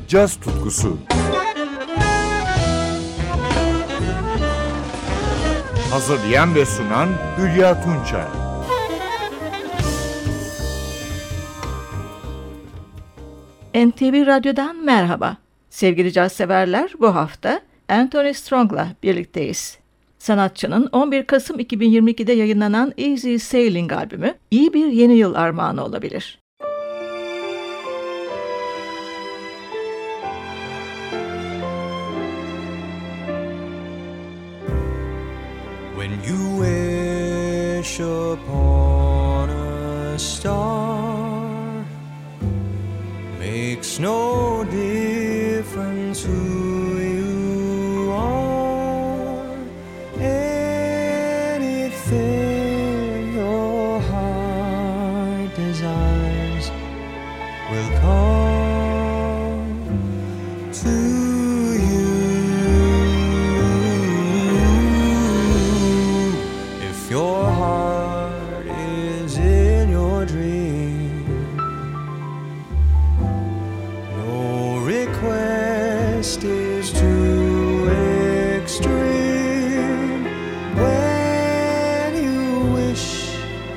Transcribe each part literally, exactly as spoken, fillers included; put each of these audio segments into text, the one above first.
caz tutkusu. Hazırlayan ve sunan Hülya Tunçay. N T V Radyo'dan merhaba. Sevgili caz severler, bu hafta Anthony Strong'la birlikteyiz. Sanatçının on bir Kasım iki bin yirmi ikide yayınlanan Easy Sailing albümü iyi bir yeni yıl armağanı olabilir. When you wish upon a star, makes no difference who you are. Anything your heart desires will come to you. If your heart is in your dream, no request is too extreme. When you wish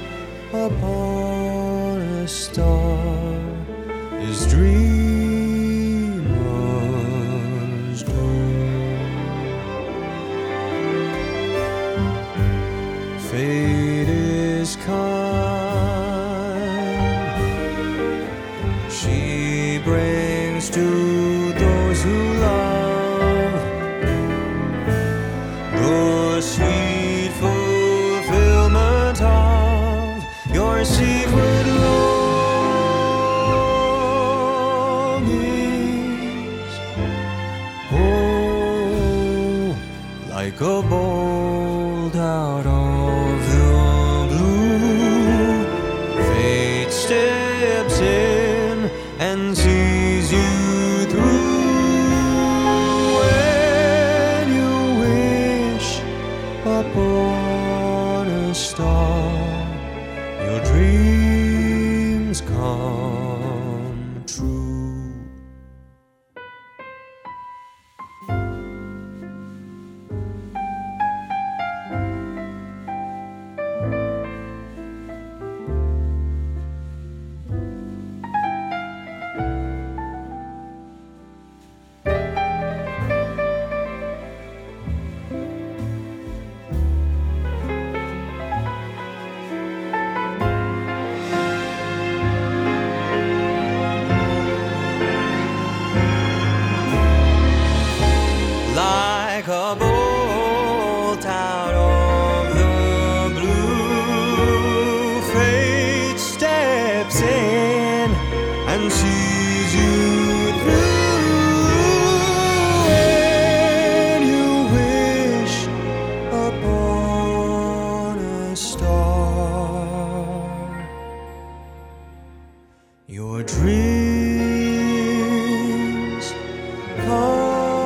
upon a star, his dreamers do. Fate is kind, she brings to those who love the sweet fulfillment of your secret longings. Oh, like a bolt out of the blue, fate steps in and sees you through. When you wish upon a star, your dreams come true. Like a bolt out of the blue, fate steps in and sees you through. When you wish upon a star, your dreams come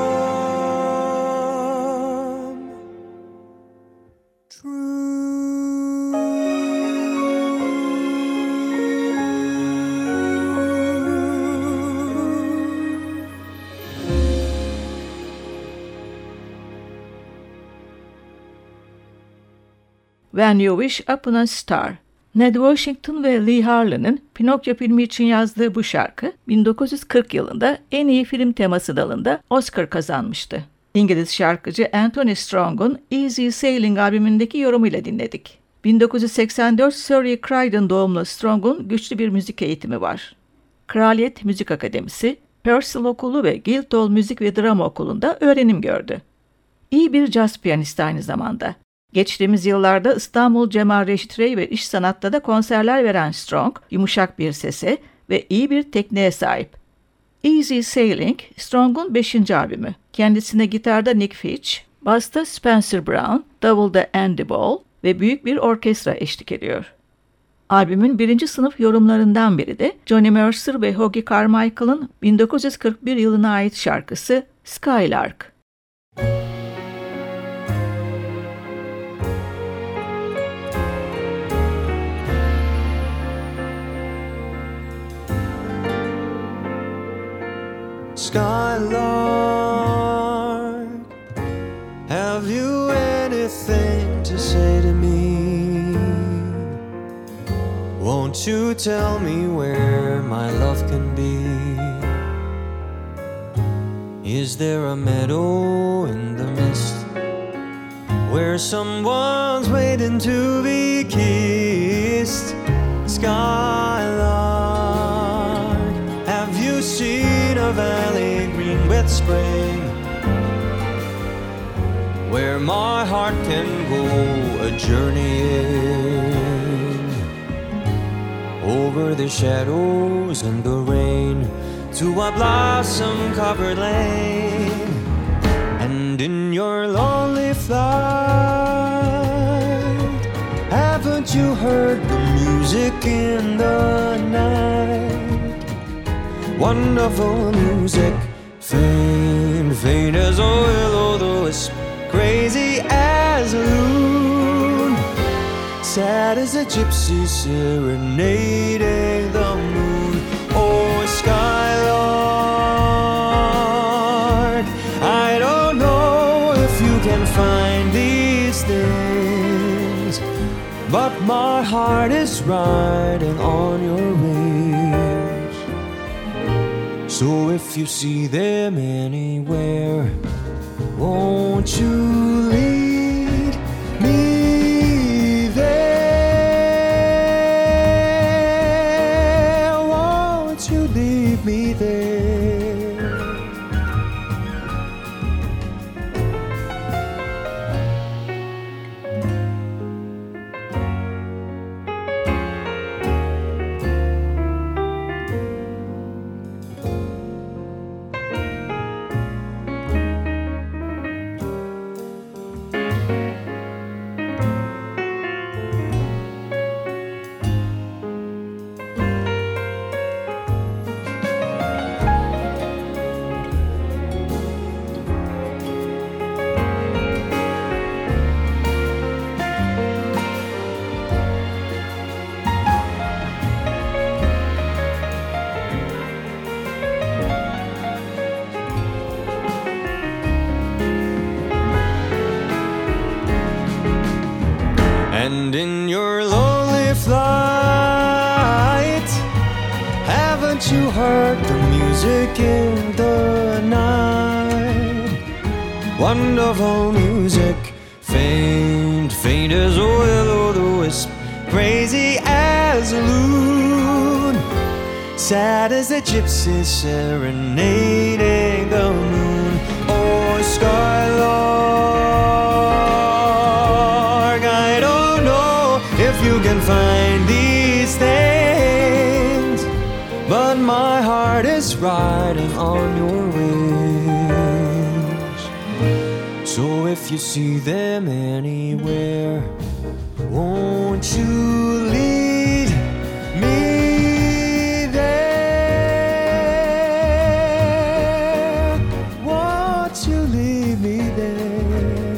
When You Wish Upon a Star. Ned Washington ve Lee Harlan'ın Pinokyo filmi için yazdığı bu şarkı bin dokuz yüz kırk yılında en iyi film teması dalında Oscar kazanmıştı. İngiliz şarkıcı Anthony Strong'un Easy Sailing albümündeki yorumuyla dinledik. bin dokuz yüz seksen dört Surrey Croydon doğumlu Strong'un güçlü bir müzik eğitimi var. Kraliyet Müzik Akademisi, Purcell Okulu ve Guildhall Müzik ve Drama Okulu'nda öğrenim gördü. İyi bir caz piyanisti aynı zamanda. Geçtiğimiz yıllarda İstanbul Cemal Reşit Rey ve İş Sanat'ta da konserler veren Strong, yumuşak bir sese ve iyi bir tekniğe sahip. Easy Sailing, Strong'un beşinci albümü. Kendisine gitarda Nick Fitch, basta Spencer Brown, davulda Andy Ball ve büyük bir orkestra eşlik ediyor. Albümün birinci sınıf yorumlarından biri de Johnny Mercer ve Hoagy Carmichael'ın bin dokuz yüz kırk bir yılına ait şarkısı Skylark. Skylark, have you anything to say to me? Won't you tell me where my love can be? Is there a meadow in the mist where someone's waiting to be kissed? Skylark, have you seen a valley green with spring, where my heart can go a journeying over the shadows and the rain to a blossom-covered lane? And in your lonely flight, haven't you heard the music in the night? Wonderful music, faint, faint as a will-o'-the-wisp, crazy as a loon, sad as a gypsy serenading the moon. Oh, Skylark, I don't know if you can find these things, but my heart is riding on your wings. So if you see them anywhere, won't you lead me there? Won't you lead me there? And in your lonely flight, haven't you heard the music in the night? Wonderful music, faint, faint as a will-o'-the-wisp, crazy as a loon, sad as a gypsy serenading the moon. Oh, Skylark, I don't know if you can find these things, but my heart is riding on your wings. So if you see them anywhere, won't you lead me there? Won't you lead me there?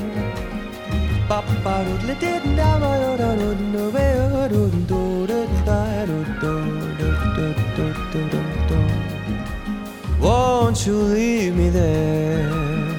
Won't you leave me there?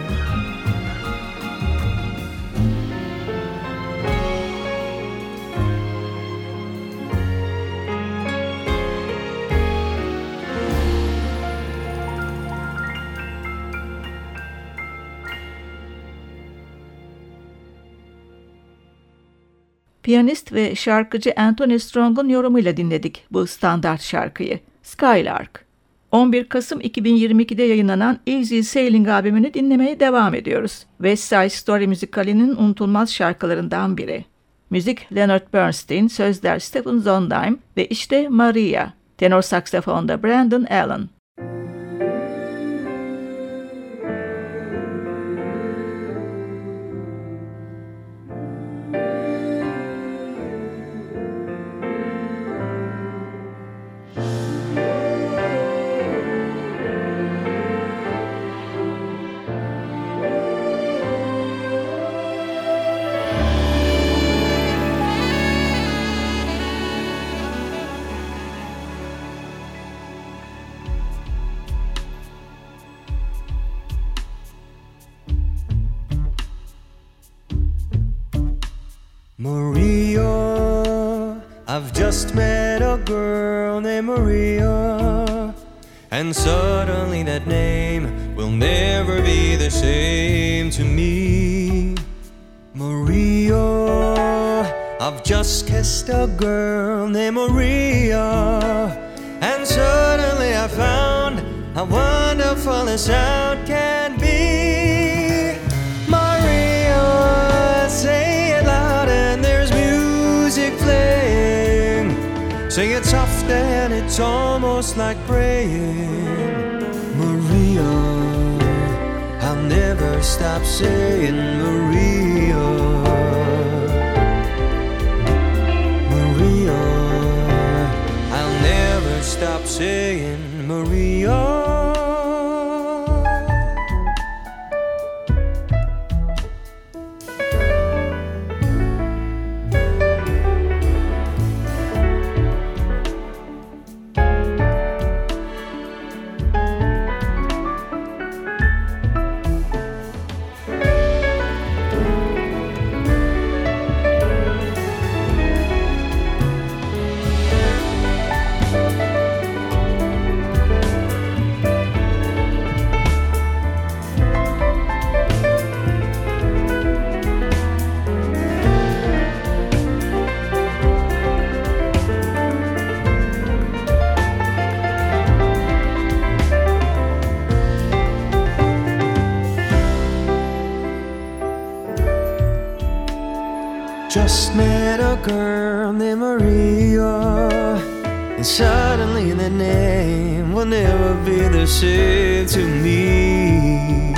Piyanist ve şarkıcı Anthony Strong'un yorumuyla dinledik bu standart şarkıyı. Skylark. on bir Kasım iki bin yirmi ikide yayınlanan Easy Sailing albümünü dinlemeye devam ediyoruz. West Side Story müzikalinin unutulmaz şarkılarından biri. Müzik Leonard Bernstein, sözler Stephen Sondheim ve işte Maria. Tenor saksafonda Brandon Allen. I've just met a girl named Maria, and suddenly that name will never be the same to me. Maria, I've just kissed a girl named Maria, and suddenly I found how wonderful the sound can be. Maria, say it loud and there's music playing. Sing it soft and it's almost like praying. Maria, I'll never stop saying Maria. Maria, I'll never stop saying Maria. Just met a girl named Maria, and suddenly that name will never be the same to me.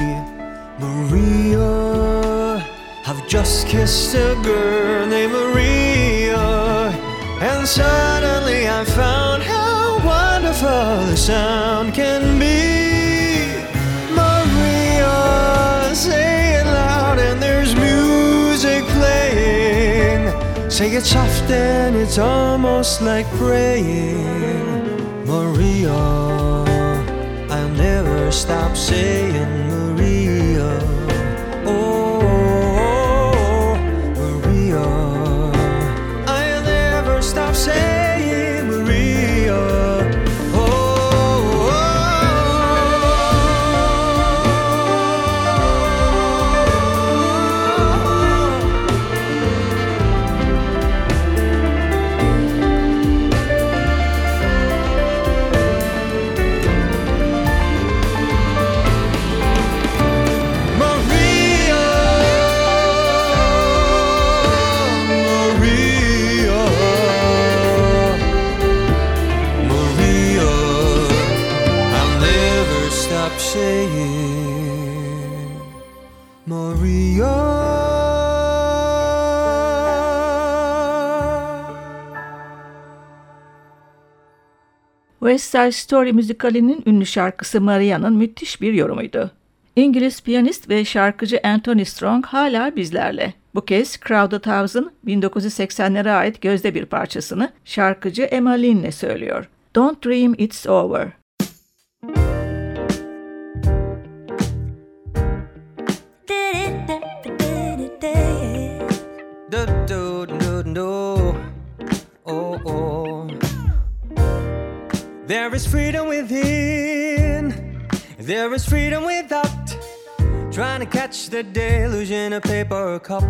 Maria, I've just kissed a girl named Maria, and suddenly I found how wonderful the sound can be. Maria, say it loud and there's music playing. Say it soft and it's almost like praying. Maria, I'll never stop saying Maria. Oh, Maria, I'll never stop saying Maria. Saying Maria. West Side Story müzikalinin ünlü şarkısı Maria'nın müthiş bir yorumuydu. İngiliz piyanist ve şarkıcı Anthony Strong hala bizlerle. Bu kez Crowded House'ın bin dokuz yüz seksenlere ait gözde bir parçasını şarkıcı Emma Lynn'le söylüyor. Don't Dream It's Over. Do, do, do, do. Oh, oh. There is freedom within, there is freedom without, trying to catch the deluge in a paper cup.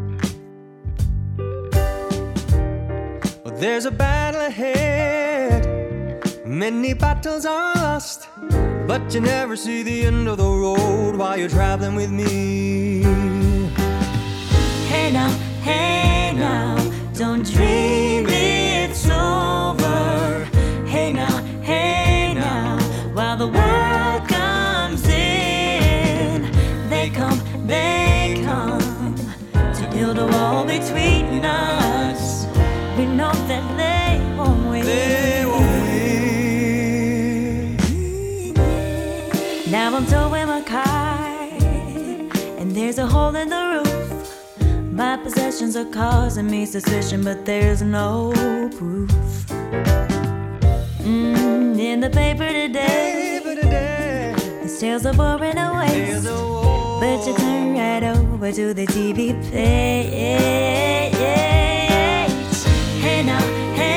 Well, there's a battle ahead, many battles are lost, but you never see the end of the road while you're traveling with me. Hey now, hey now, don't dream it's over. Hey now, hey now, while the world comes in, they come, they come to build a wall between us. We know that they won't win. They won't win. Now I'm towing my car, and there's a hole in the roof. My possessions are causing me suspicion, but there's no proof. Mm, in the paper today, Paper today. the sales are boring away. There's a war. But you turn right over to the T V page. Hey now, hey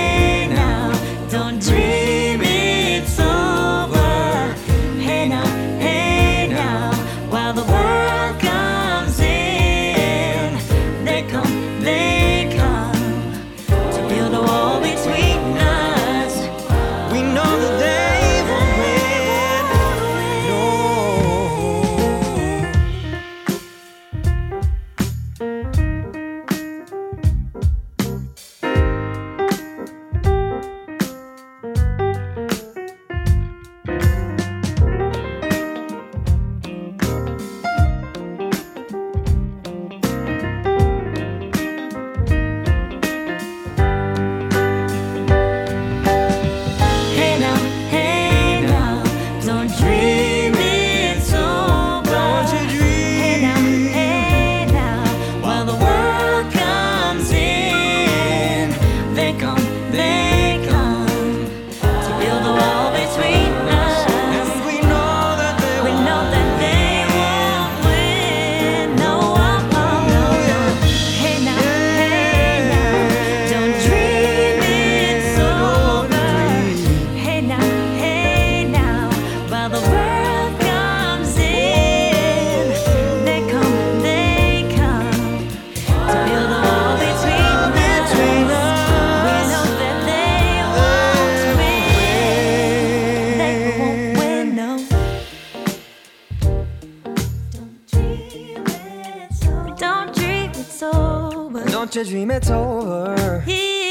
Don't you dream it's over.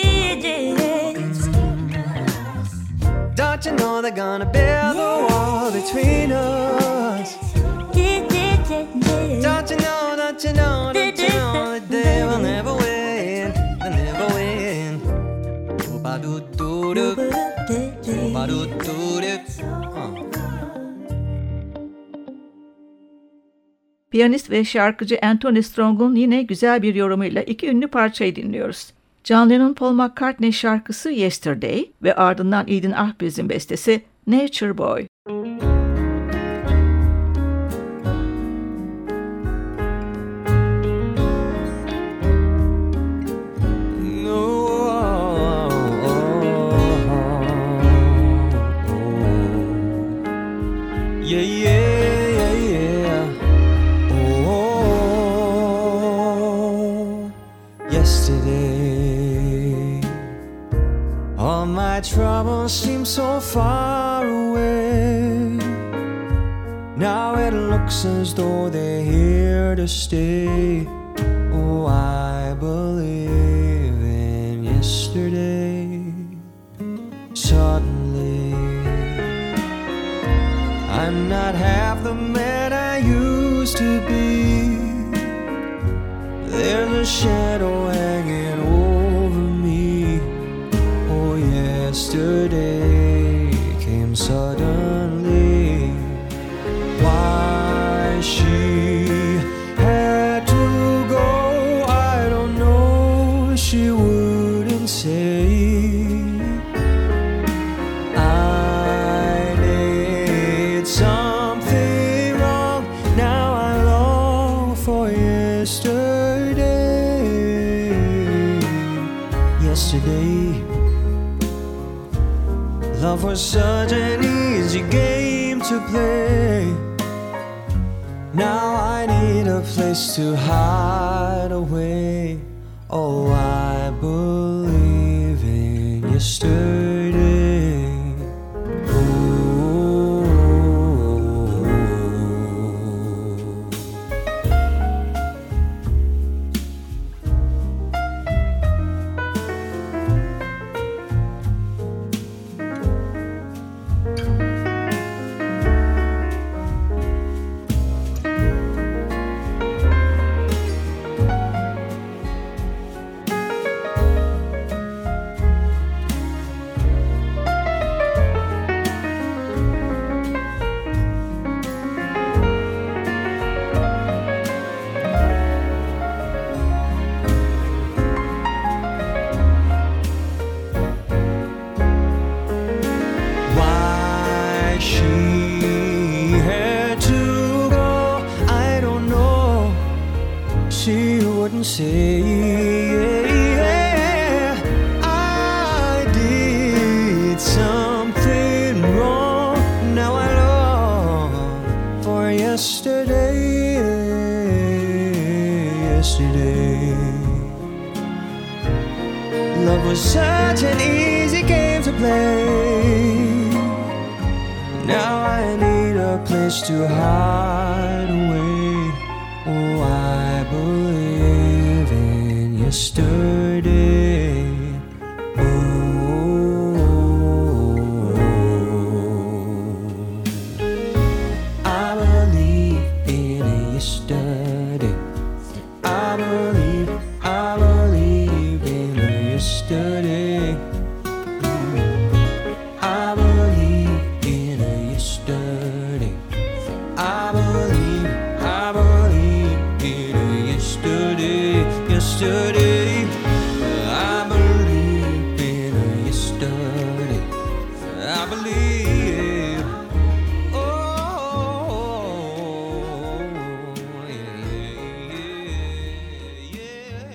Don't you know they're gonna build a wall between us? Don't you know, don't you know, don't you know that they will never win, they'll never win. Ooba-doo-doo-doo, ooba-doo-doo-doo. Piyanist ve şarkıcı Anthony Strong'un yine güzel bir yorumuyla iki ünlü parçayı dinliyoruz. John Lennon Paul McCartney şarkısı Yesterday ve ardından Eden Ahbiz'in bestesi Nature Boy. Yeah, yeah, yeah, yeah. Oh, yesterday, all my troubles seem so far away. Now it looks as though they're here to stay. Oh, I believe in yesterday. Suddenly, I'm not half the man I used to be. There's a shadow hanging over me. Oh, yesterday came suddenly. Why she had to go, I don't know. She wouldn't say. Yesterday, love was such an easy game to play. Now I need a place to hide away. Oh, I believe in yesterday. Say, yeah, I did something wrong. Now I long for yesterday, yesterday. Love was such an easy game to play. Now I need a place to hide away. Oh, I believe in yesterday. Oh, I believe in yesterday. I believe, I believe in yesterday. I believe in yesterday. I believe, I believe in yesterday, yesterday. I believe in yesterday. I believe. Oh, yeah, yeah, yeah.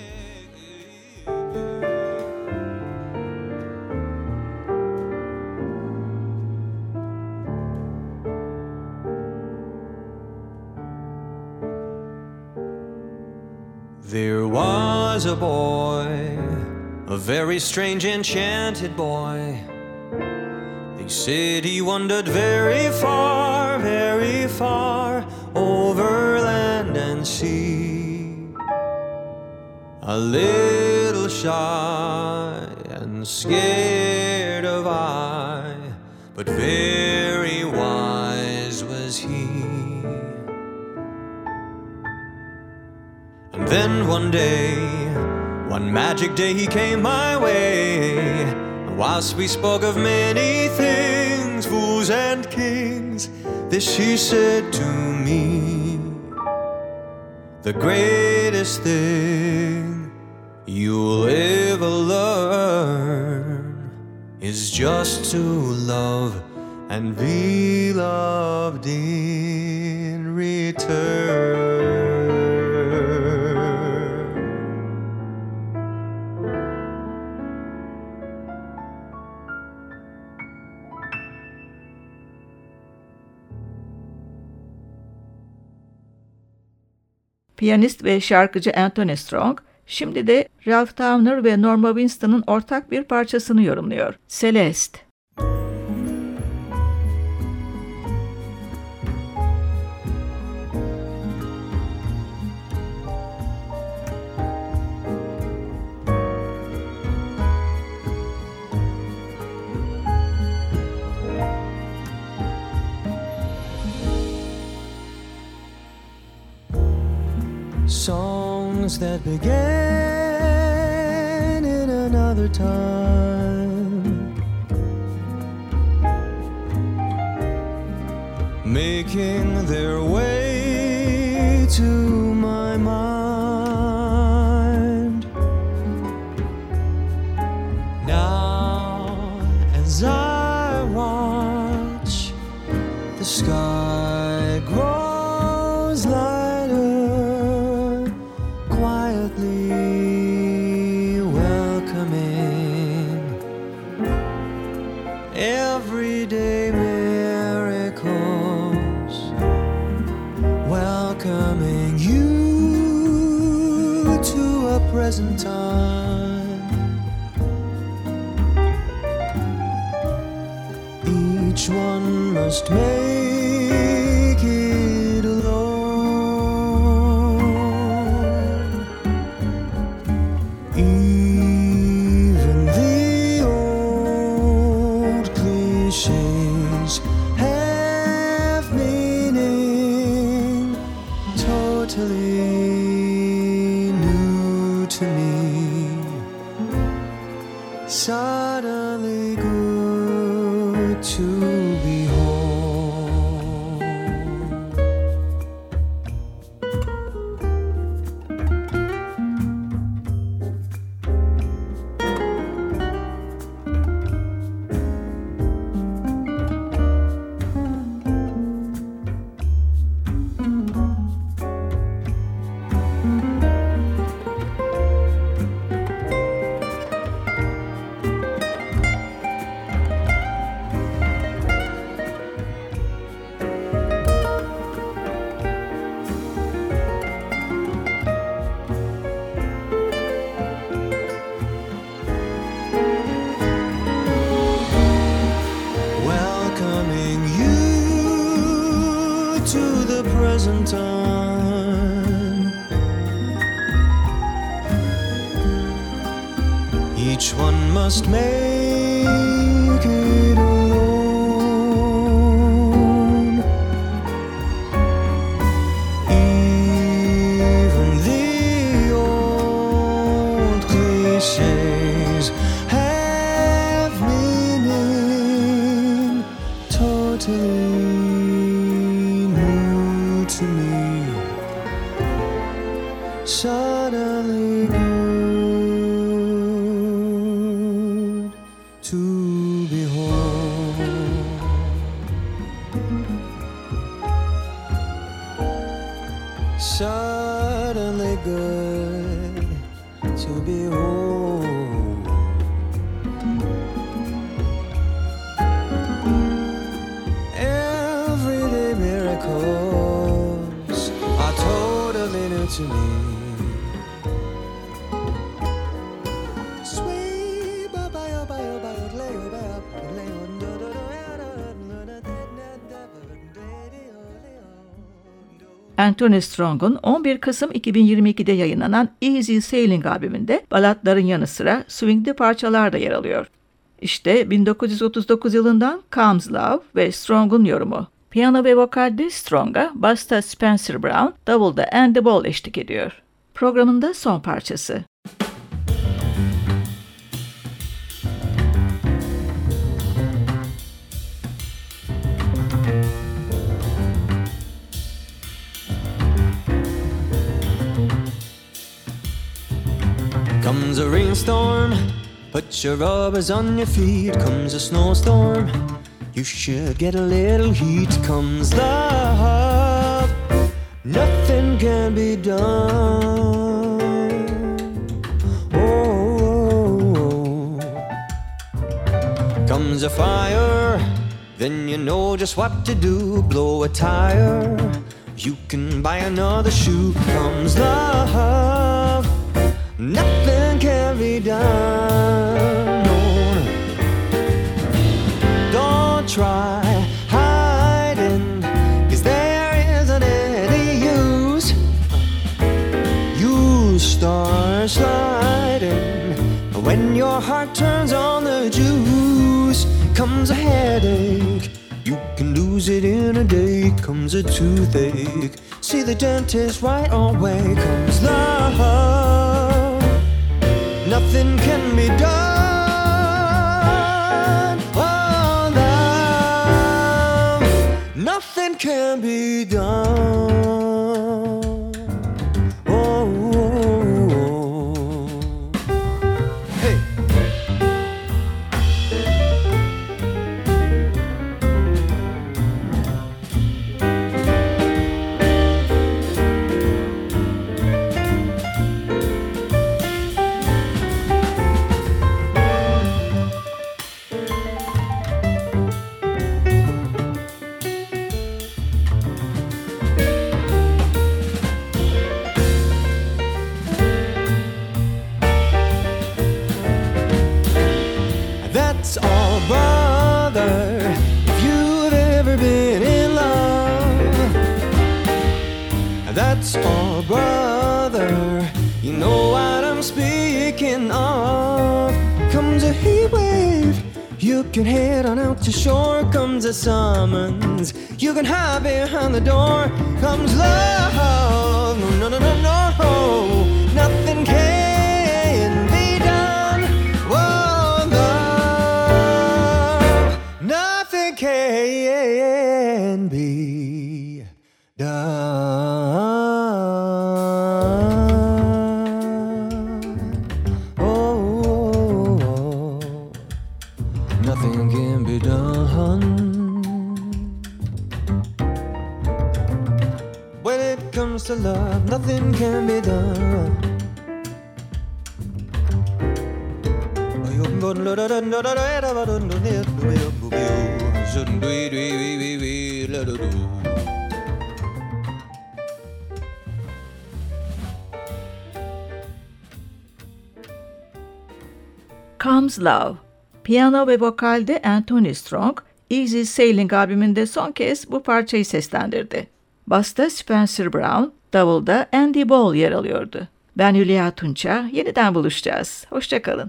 There was a boy, a very strange enchanted boy. They said he wandered very far, very far, over land and sea. A little shy and scared of eye, but very wise was he. And then one day, one magic day, he came my way. And whilst we spoke of many things, fools and kings, this he said to me: the greatest thing you'll ever learn is just to love and be loved in return. Piyanist ve şarkıcı Anthony Strong, şimdi de Ralph Towner ve Norma Winston'ın ortak bir parçasını yorumluyor. Celeste. Songs that began in another time, making their way to my mind. Now as I watch, the sky grows lighter, welcoming everyday miracles, welcoming you to a present time. Each one must make it alone. Even the old cliches have meaning, totally new to me, suddenly good to behold. Present time, each one must make it alone. Even the old cliches have meaning, totally to me, suddenly good to behold. Suddenly good to behold. Everyday miracles are totally new to me. Sweet ba ba ba ba ba lay ba lay on do do do do do do do do do do do do do do do. Anthony Strong'un on bir Kasım iki bin yirmi ikide yayınlanan Easy Sailing albümünde balatların yanı sıra swingli parçalar da yer alıyor. İşte bin dokuz yüz otuz dokuz yılından Comes Love ve Strong'un yorumu. Piyano ve vokalde Strong'a, basta Spencer Brown, davulda Andy Ball eşlik ediyor. Programın da son parçası. Comes a rainstorm, put your rubbers on your feet. Comes a snowstorm, you should get a little heat. Comes love, nothing can be done. Oh, comes a fire, then you know just what to do. Blow a tire, you can buy another shoe. Comes love, nothing can be done. No. Don't try hiding, 'cause there isn't any use. You start sliding when your heart turns on the juice. Comes a headache, you can lose it in a day. Comes a toothache, see the dentist right away. Comes love, nothing can be done. Oh, love, nothing can be done. Oh, oh, oh. Hey. That's all, brother, if you've ever been in love. That's all, brother, you know what I'm speaking of. Comes a heat wave, you can head on out to shore. Comes a summons, you can hide behind the door. Comes love, no, no, no, no, no, nothing can be done. Whoa, love, nothing can be done. Oh, nothing can be done. When it comes to love, nothing can be done. Comes Love. Piyano ve vokalde Anthony Strong, Easy Sailing albümünde son kez bu parçayı seslendirdi. Basta Spencer Brown, davulda Andy Ball yer alıyordu. Ben Hülya Tunça, yeniden buluşacağız. Hoşça kalın.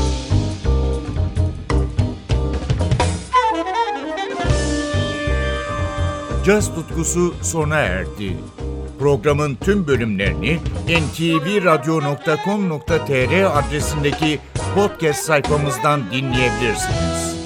Caz tutkusu sona erdi. Programın tüm bölümlerini en ti vi radyo nokta com nokta tr adresindeki podcast sayfamızdan dinleyebilirsiniz.